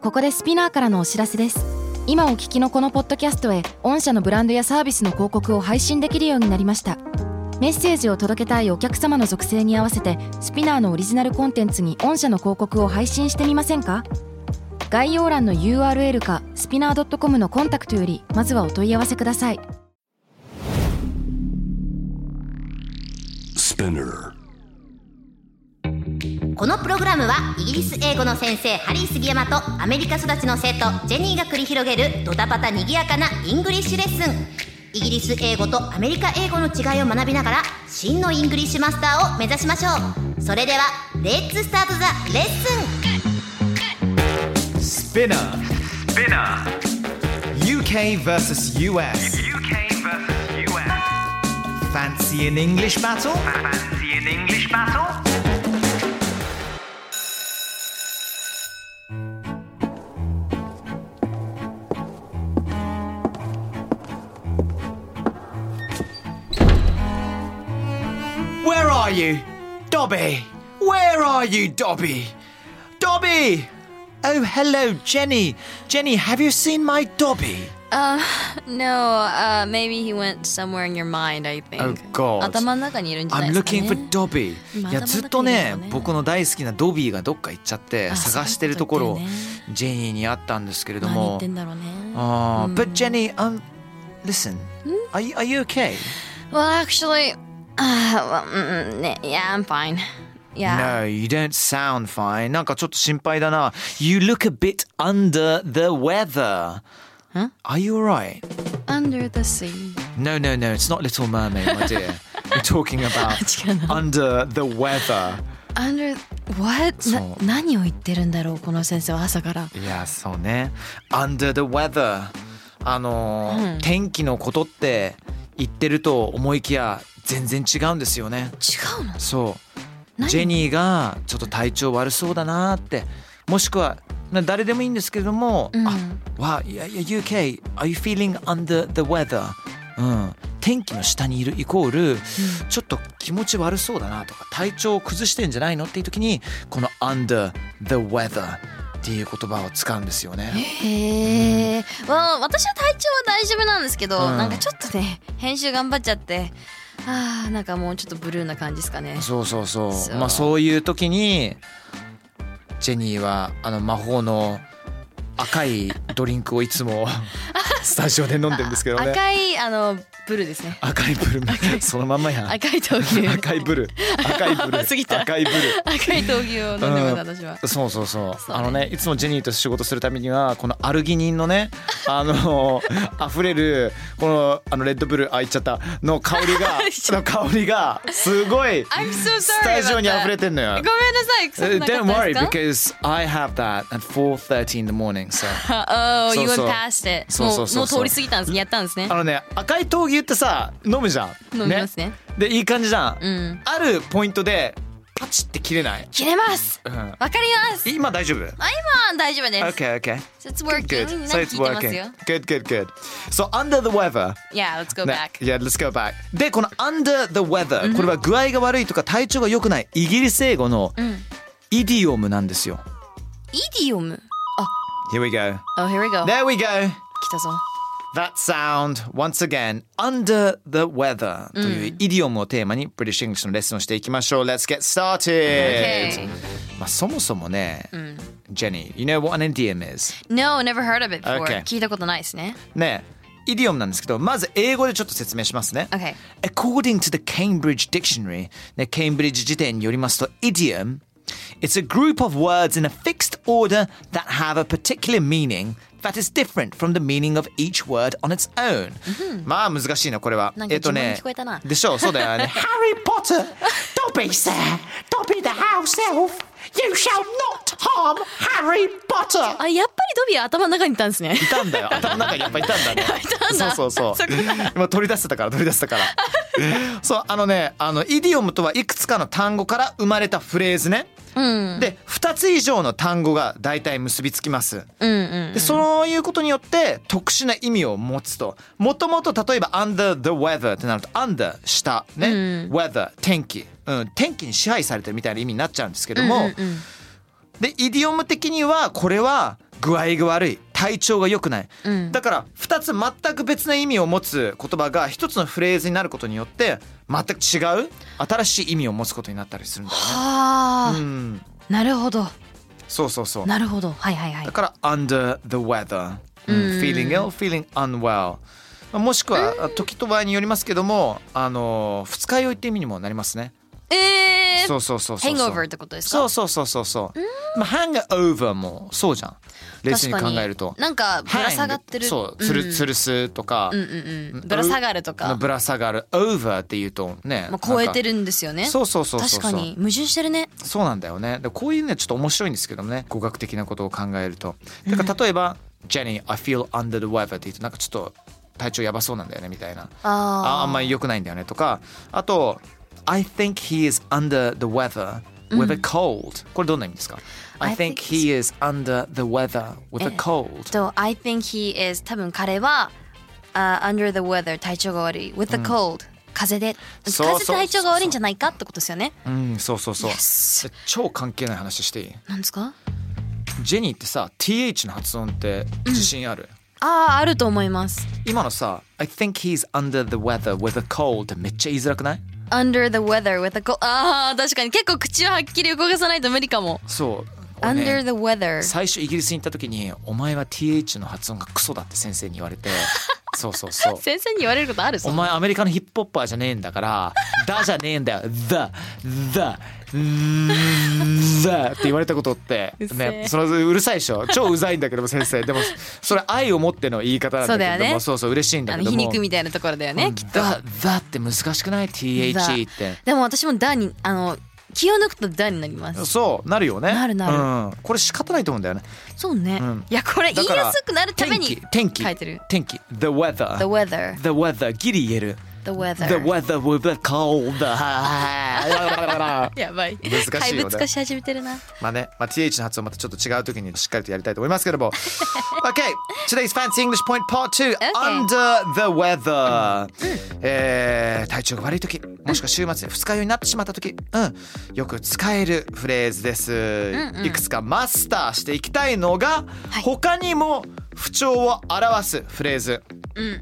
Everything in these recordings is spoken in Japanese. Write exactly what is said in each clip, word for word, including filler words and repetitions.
ここでスピナーからのお知らせです。今お聞きのこのポッドキャストへ御社のブランドやサービスの広告を配信できるようになりました。メッセージを届けたいお客様の属性に合わせてスピナーのオリジナルコンテンツに御社の広告を配信してみませんか？概要欄の ユーアールエル かスピナー ドットコム のコンタクトよりまずはお問い合わせください。 このプログラムはイギリス英語の先生ハリー杉山とアメリカ育ちの生徒ジェニーが繰り広げるドタパタにぎやかなイングリッシュレッスン。イギリス英語とアメリカ英語の違いを学びながら真のイングリッシュマスターを目指しましょう。それではレッツスタートザレッスン。 Spinner Spinnerユーケー vs ユーエス ユーケー vs ユーエス Fancy an English battle? Fancy an English battle? Where are you? Dobby! Where are you, Dobby? Dobby! Oh, hello, Jenny. Jenny, have you seen my Dobby? Uh, no, uh, maybe he went somewhere in your mind, I think. Oh, God. 頭の中にいるんじゃない I'm ですかね。 looking for Dobby. いや、ずっとね、僕の大好きなドビーがどっか行っちゃって探してるところをジェニーに会ったんですけれども。 何言ってんだろうね。 あー、But Jenny, um, listen, are you, are you okay? Well, actually, uh, well, mm, mm, yeah, I'm fine. Yeah. No, you don't sound fine. なんかちょっと心配だな。You look a bit under the weather. Huh? Are you alright? Under the sea. No, no, no. It's not Little Mermaid, my dear. We're talking about 違うな。 under the weather. Under what? そうな何を言ってるんだろうこの先生は朝から。 いや、そうね。Under the weather. あのーうん天気のことって言ってると思いきや全然違うんですよね。 違うの？ そう。 何？ ジェニーがちょっと体調悪そうだなって、もしくは誰でもいいんですけれども、 うん、 あ、わ、いやいや ユーケー, are you feeling under the weather? うん、天気の下にいるイコール、うん、ちょっと気持ち悪そうだなとか体調を崩してんじゃないのっていう時にこの under the weather っていう言葉を使うんですよね。 へえ、うん、well, 私は体調は大丈夫なんですけど、 うん、 なんかちょっとね編集頑張っちゃって。あーなんかもうちょっとブルーな感じですかね。 そうそうそう。 そう、 まあそういう時にジェニーはあの魔法の赤いドリンクをいつもスタジオで飲んでるんですけどね。 赤いあのブルーですね。 赤いブルーそのまんまやん。 赤い豆乳。 赤いブルー赤いブルー過ぎた赤いブルー赤い豆乳を飲んでます、私は。 そうそうそう、 そうね、 あのねいつもジェニーと仕事するためにはこのアルギニンのねあの溢れるこのあのレッドブルーあ言っちゃったの香りがの香りがすごい I'm so sorry スタジオに溢れてんのよ。 ごめんなさい。臭くなかった Don't worry ですか？ because I have that at four thirty in the morning so Oh, そう you そう went past it. そうそうそうそうもうもう通り過ぎたんです。やったんですね。 あのね赤い豆乳ってさ飲むじゃん。 飲みますね。 でいい感じじゃん、 うん、 あるポイントでパチって切れない？ 切れます。 うん、 わかります。 今大丈夫？ あ、今大丈夫です。 Okay, okay. So it's working. Good. みんな So 聞い it's てます working. よ。 Good, good, good. So under the weather. Yeah, let's go ね back. Yeah, let's go back. で、この under the weather、これは具合が悪いとか体調が良くないイギリス英語のイディオムなんですよ。 イディオム。 Here we go. Oh, here we go. There we go. 来たぞ。 That sound, once again, under the weather というイディオムをテーマに British English のレッスンをしていきましょう。Let's get started! Okay. まあそもそもね、Jenny, you know what an idiom is? No, never heard of it before. Okay. 聞いたことないですね。 ね、イディオムなんですけど、まず英語でちょっと説明しますね。 Okay. According to the Cambridge Dictionary, ね、ケンブリッジ辞典によりますと、idiom, it's a group of words in a fixed order that have a particular meaning that is different from the meaning of each word on its own、mm-hmm. まあ難しいなこれは。 なんか自分に聞こえたな。 でしょう、そうだよね。Harry Potter, Dobby sir, Dobby the house elf.You shall not harm Harry Potter! あ、やっぱりドビー頭の中にいたんですね。 いたんだよ。頭の中にやっぱいたんだね。 いたんだ。 そうそうそう。今取り出せたから取り出せたから。そう、あのね、あのイディオムとはいくつかの単語から生まれたフレーズね。 うん、 でふたつ以上の単語が大体結びつきます、 うんうんうん、 でそういうことによって特殊な意味を持つと、もともと例えば under the weather ってなると under 下ね、うん、weather 天気、うん、天気に支配されてるみたいな意味になっちゃうんですけども、うんうんうん、でイディオム的にはこれは具合が悪い、体調が良くない、 うん、 だからふたつ全く別な意味を持つ言葉がひとつのフレーズになることによって全く違う新しい意味を持つことになったりするんだよね。 はあ、 うん、 なるほど。 そうそうそう。 なるほど。はいはいはい。 だから under the weather、うん、 うん、 feeling ill, feeling unwell、もしくは時と場合によりますけども、あの二日酔いって意味にもなりますね。 えー、 そうそうそうそう。 hangover ってことですか？ そうそうそうそうそう。まあ hangover もそうじゃん。冷静に考えると。 なんかぶら下がってる。 そう、つるつるすとか、 うんうんうん、ぶら下がるとか。 ぶら下がる over っていうとね。 まあ超えてるんですよね。 そうそうそうそう。 確かに矛盾してるね。 そうなんだよね。でこういうねちょっと面白いんですけどもね、語学的なことを考えると。だから例えば、うん、Jenny, I feel under the weather って言うとなんかちょっと体調やばそうなんだよねみたいな。ああ、あんまり良くないんだよねとか、あと I think he is under the weather with a cold、うん、これどんな意味ですか？ I think he is under the weather with a cold。 と I think he is 多分彼は、uh, under the weather 体調が悪い with a cold、うん、風で風で体調が悪いんじゃないかってことですよね。 うん、そうそうそう、 yes。 超関係ない話していい？ なんですか？ ジェニーってさ ティーエイチ の発音って自信ある？ うん、ああ、あると思います。 今のさ I think he's under the weather with a cold ってめっちゃ言いづらくない ？Under the weather with a cold。 ああ、確かに結構口をはっきり動かさないと無理かも。 そう、ね、 Under the weather。 最初イギリスに行った時にお前は ティーエイチ の発音がクソだって先生に言われてそうそうそう先生に言われることある？ お前アメリカのヒップホッパーじゃねえんだからだじゃねえんだよ The The The って言われたことってね、そのうるさいでしょ、超うざいんだけども先生、でもそれ愛を持っての言い方なんだけども、そうだよね、そうそう嬉しいんだけども、 あの皮肉みたいなところだよね、うん、きっと。 The The って難しくない？ ティーエイチ って。 でも私も The にあの気を抜くと The になります。 そうなるよね。 なるなる、 うん、これ仕方ないと思うんだよね。 そうね、 うん、 いやこれ言いやすくなるために天気書いてる。 天気 The weather The weather The weather ギリ言える。 The weather The weather with a cold やばい、 難しいよね。 怪物化し始めてるな。 まあね、まあ、ティーエイチ の発音またちょっと違う時にしっかりとやりたいと思いますけどもOkay, today's Fancy English Point Part ツー、 okay. Under the weather、うん、えー、体調が悪い時、もしくは週末で二日酔いになってしまった時、うん、よく使えるフレーズです、うんうん、いくつかマスターしていきたいのが、はい、他にも不調を表すフレーズ、うんうんうん、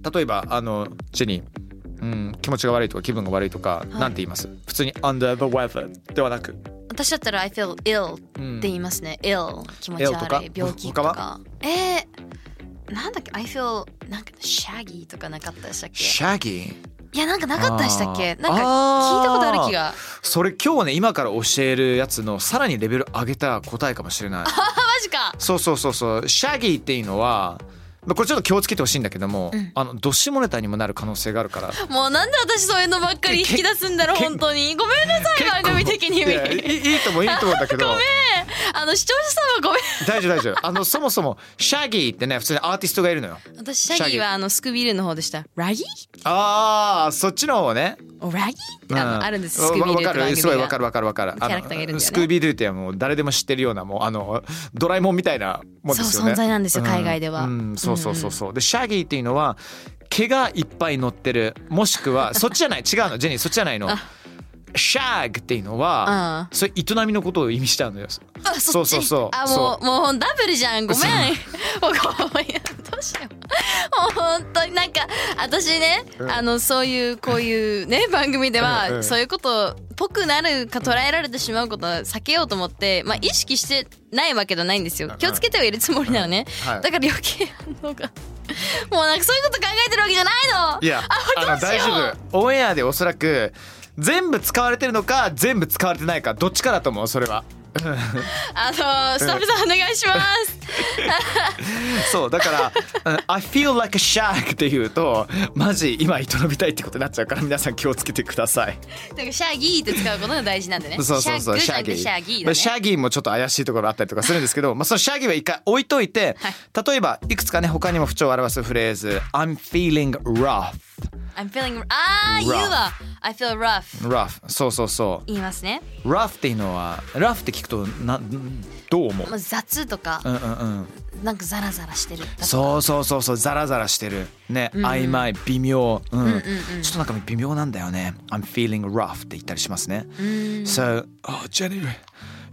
例えばあのジェニー、うん、気持ちが悪いとか気分が悪いとか、はい、なんて言います？普通に under the weather ではなく、 私だったら I feel ill って言いますね、うん、ill 気持ち悪い、病気とか。えー、なんだっけ I feel なんか shaggy とかなかったでしたっけ？ shaggy？ いやなんかなかったでしたっけ？なんか聞いたことある気が。 それ今日ね今から教えるやつのさらにレベル上げた答えかもしれない。 あマジか。そうそうそうそう、shaggy っていうのはこれちょっと気をつけてほしいんだけども、うん、あのド下ネタにもなる可能性があるから。もうなんで私そういうのばっかり引き出すんだろう本当に。ごめんなさい番組的に。いやいい、いいと思ういいと思うんだけど。 ごめん、あの視聴者さんはごめん。 大丈夫大丈夫。あのそもそもシャギーってね普通にアーティストがいるのよ。 私シャギーはあのスクービールの方でした。ラギー？ ああそっちの方ね。 ラギーってあの、うん、あるんです。スクービールって番組が。 すごいわかるわかるわかる。 キャラクターがいるんだよね。 スクービールってもう誰でも知ってるようなもうあのドラえもんみたいなもんですよね。 そう存在なんですよ、海外では。 うんうん、そうそうそうそう。でシャギーっていうのは毛がいっぱい乗ってる、もしくはそっちじゃない違うのジェニーそっちじゃないの。シャグっていうのは、うん、それ営みのことを意味しちゃうのよ。 あそうそうそう。あもうもうダブルじゃん。ごめん。もうごめんどうしよう。もう本当になんか私ね、うん、あのそういうこういうね番組では、うんうん、そういうことっぽくなるか捉えられてしまうことは避けようと思って、まあ意識してないわけじゃないんですよ。気をつけてはいるつもりなのね。うんはい、だから余計反応が。もうなんかそういうこと考えてるわけじゃないの。 いやあの大丈夫。オンエアでおそらく全部使われてるのか全部使われてないかどっちかだと思うそれは。 あのスタッフさんお願いしますそうだから I feel like a shag って言うとマジ今営みたいってことになっちゃうから皆さん気をつけてください。 だからシャギーって使うことが大事なんでね。 そうそうそうシャギーシャギーだね。シャギーもちょっと怪しいところあったりとかするんですけどまあそのシャギーは一回置いといて、はい、例えばいくつかね他にも不調を表すフレーズ I'm feeling rough I'm feeling あー言うわ I feel rough rough そうそうそう言いますね。 rough っていうのは rough って聞くとなどう思う？ まあ、雑とか、 うんうんうん、 なんかザラザラしてる。 そうそうそうそうザラザラしてるね、うんうん、曖昧微妙、うんうんうんうん、ちょっとなんか微妙なんだよね。 I'm feeling rough って言ったりしますね。 So oh Jenny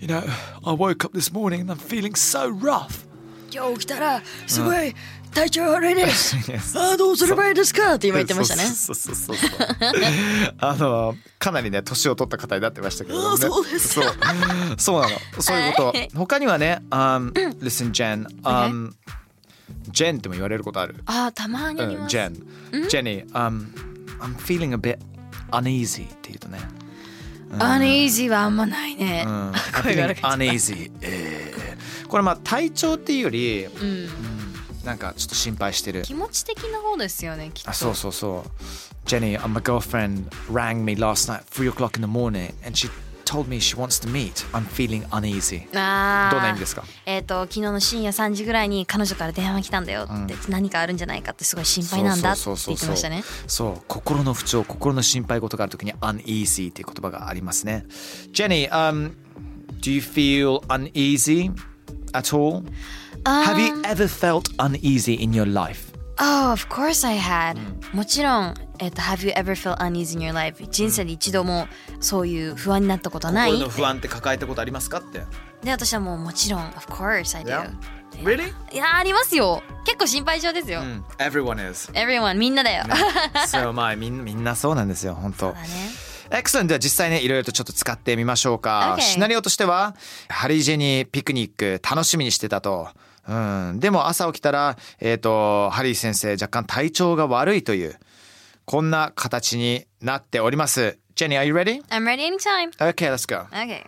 You know, I woke up this morning and I'm feeling so rough. 今日起きたらすごい体調悪いです。あ、どうすればいいですかって今言ってましたね。 そうそうそうそうそう。あのかなりね年を取った方になってましたけどね。 そうです。 そうそうなの。そういうこと。他にはね、um, listen Jen, um, Jen っても言われることある。 あ、たまにあります。 Jen, Jenny, um, I'm feeling a bit uneasy って言うとね。 uneasy はあんまないね。 声が uneasy、えー、これまあ体調っていうより、うんうん、なんかちょっと心配してる気持ち的な方ですよねきっと。 あ、そうそうそう。 Jenny, my girlfriend rang me last night three o'clock in the morning and she told me she wants to meet. I'm feeling uneasy. あ、どんな意味ですか？ えっと昨日の深夜さんじぐらいに彼女から電話が来たんだよって、うん、何かあるんじゃないかってすごい心配なんだって言ってましたね。 そう、心の不調、心の心配事があるときに uneasy っていう言葉がありますね。Jenny, um, do you feel uneasy at all? Um, Have you ever felt uneasy in your life?Oh, of course I had、うん、もちろん、えっと、Have you ever felt uneasy in your life? 人生で一度もそういう不安になったことない？ 心の不安って抱えたことありますかって。 で、私はもうもちろん Of course I do、yeah. Really? いや、ありますよ。結構心配性ですよ、うん、 Everyone is Everyone みんなだよ、ね、 そう、まあみん、みんなそうなんですよ本当。 そうだね。 Excellent。 では実際ねいろいろとちょっと使ってみましょうか、 okay. シナリオとしてはハリージェニーピクニック楽しみにしてたと、うん、でも朝起きたら、えーと、ハリー先生若干体調が悪いというこんな形になっております。 Jenny, are you ready? I'm ready anytime. Okay, let's go. Okay.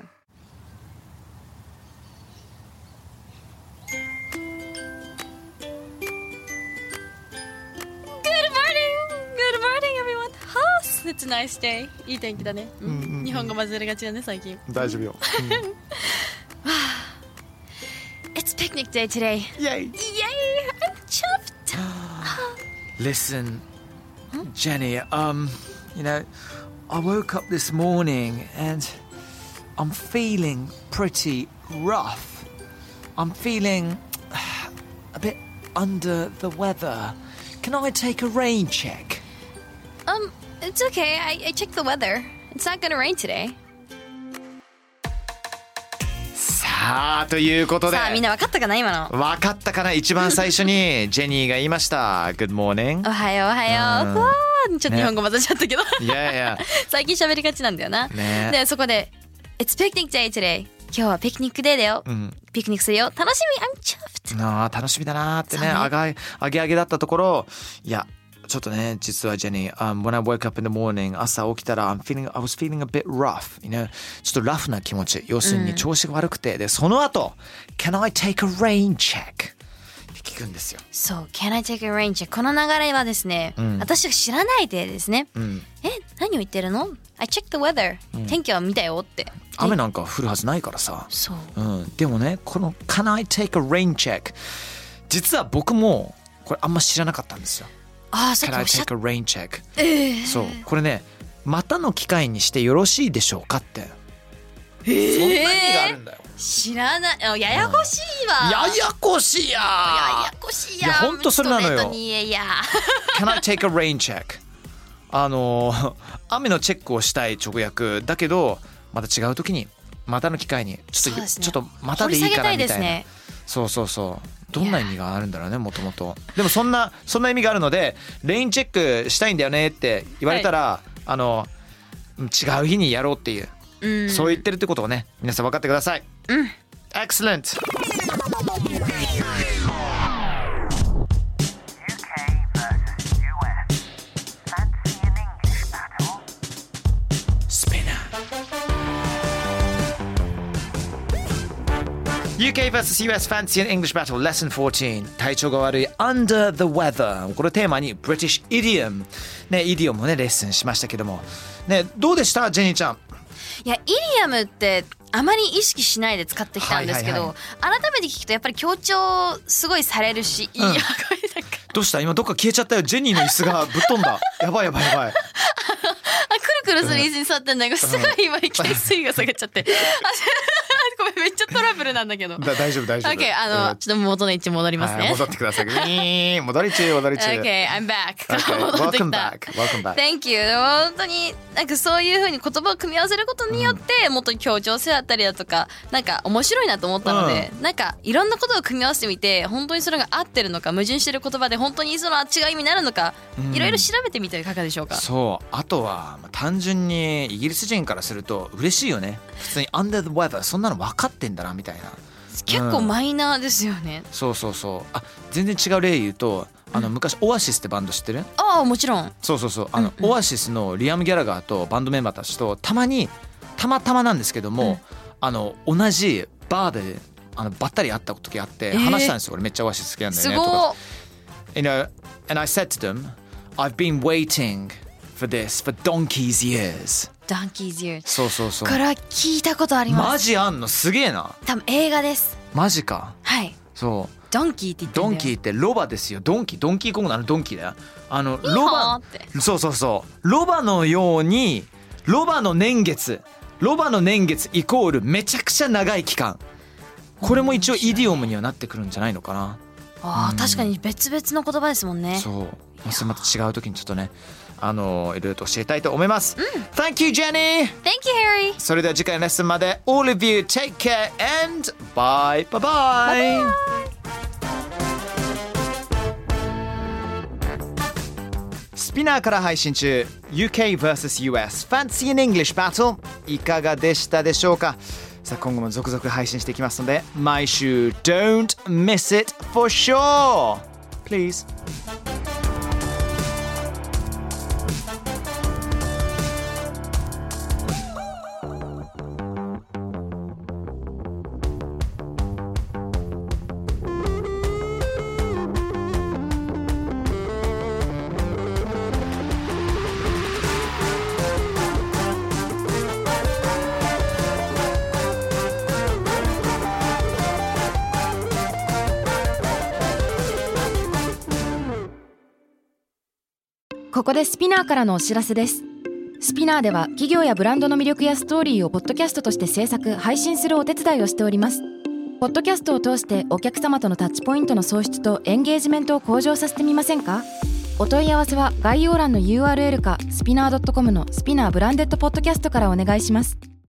Good morning! Good morning, everyone! It's a nice day. いい天気だね、うんうんうん、日本語混ぜるがちだね最近。 大丈夫よ、うん It's picnic day today. Yay! Yay! I'm chuffed. Listen, huh? Jenny, um, you know, I woke up this morning and I'm feeling pretty rough. I'm feeling a bit under the weather. Can I take a rain check? Um, it's okay. I, I checked the weather. It's not gonna rain today. さあということで、 さあみんな分かったかな今の。 分かったかな。一番最初にジェニーが言いました。Good morning。 おはようおはよう。うん、わーちょっと日本語混ざっちゃったけど。 いやいや。 最近喋りがちなんだよな。ね、でそこで It's picnic day today。今日はピクニックデーだよ。うん、ピクニックするよ。楽しみ。I'm chuffed。 ああ楽しみだなーってね。あがあげあげだったところ、いや。ちょっとね実はジェニー、um, when I woke up in the morning 朝起きたら I'm feeling, I was feeling a bit rough, you know? ちょっとラフな気持ち、要するに調子が悪くて、うん、でその後 Can I take a rain check? って聞くんですよ。 そう Can I take a rain check? この流れはですね、うん、私が知らないでですね、うん、え何を言ってるの I checked the weather、うん、天気は見たよって雨なんか降るはずないからさ。 そう、 うん、でもねこの Can I take a rain check? 実は僕もこれあんま知らなかったんですよ。 あ、そっか。 Can I take a rain check? えー、 そうこれねまたの機会にしてよろしいでしょうかって、 えー、 そんな意味があるんだよ。 知らない。ややこしいわ、 うん、ややこしいやややこしいや。 いや本当それなのよ。 Can I take a rain check? あの雨のチェックをしたい直訳だけどまた違う時にまたの機会にちょっと、ね、ちょっとまたでいいかなみたいな、ね、そうそうそうどんな意味があるんだろうねもともと。でもそんなそんな意味があるのでレインチェックしたいんだよねって言われたら、はい、あの違う日にやろうっていう、うん、そう言ってるってことをね皆さん分かってください。 うん。 Excellent。ユーケー vs ユーエス Fancy and English Battle Lesson fourteen 体調が悪い Under the Weather これをテーマに British Idiom ねイディオムもねレッスンしましたけどもねどうでしたジェニーちゃん。 いやイディオムってあまり意識しないで使ってきたんですけど、はいはいはい、改めて聞くとやっぱり強調すごいされるし、うん、いやこれなんかどうした今どっか消えちゃったよ。ジェニーの椅子がぶっ飛んだやばいやばいやばい。 あくるくるする椅子に座ってんだけど、うん、すごい今いきなり水位が下がっちゃってあごめんめっちゃトラブルなんだけど。 だ大丈夫大丈夫。 OK、あのちょっと元の位置戻りますね。 はい、戻ってください。戻り中戻り中。 OK、I'm back。 Okay, 戻ってき welcome た。 back. Welcome back. Thank you。本当になんかそういう風に言葉を組み合わせることによって、うん、もっと協調性だったりだとか、なんか面白いなと思ったので、うん、なんかいろんなことを組み合わせてみて、本当にそれが合ってるのか、矛盾してる言葉で本当にその違う意味になるのか、いろいろ調べてみてはいかがでしょうか。 そう、あとは単純にイギリス人からすると嬉しいよね。普通に under the weather そんなの分かってんだなみたいな。 結構マイナーですよね、 うん、そうそうそう。あ、全然違う例言うと、あの昔オアシスってバンド知ってる？ ああ、もちろん。 そうそうそう。あの、うんうん、オアシスのリアム・ギャラガーとバンドメンバーたちとたまにたまたまなんですけども、うん、あの同じバーであのばったり会った時あって話したんですよ。俺めっちゃオアシス好きなんだよねとか。You know, and I said to them, I've been waiting for this for donkey's years. Donkey's years。 そうそうそう。 これは聞いたことあります。 マジあんの？すげえな。 多分映画です。 マジか。 はい。 そう。 ドンキーって言ってんだよ。 ドンキーってロバですよ。ドンキー、ドンキーコングのあのドンキーだよ。あのロバ、そうそうそう。ロバのように、ロバの年月、ロバの年月イコールめちゃくちゃ長い期間。これも一応イディオムにはなってくるんじゃないのかな。 ああ、うん、確かに別々の言葉ですもんね。 そう。まあ、それまた違う時にちょっとね、あのいろいろと教えたいと思います。うん、Thank you, Jenny. Thank you, Harry. それでは次回のレッスンまで All of you take care and bye bye bye. Bye bye. スピナーから配信中 ユーケー ブイエス ユーエス Fancy in English Battle いかがでしたでしょうか。さあ今後も続々配信していきますので毎週 Don't miss it for sure please。 ここでスピナーからのお知らせです。スピナーでは企業やブランドの魅力やストーリーをポッドキャストとして制作・配信するお手伝いをしております。ポッドキャストを通してお客様とのタッチポイントの創出とエンゲージメントを向上させてみませんか？お問い合わせは概要欄の ユーアールエル かスピナー ドットコム のスピナーブランデッドポッドキャストからお願いします。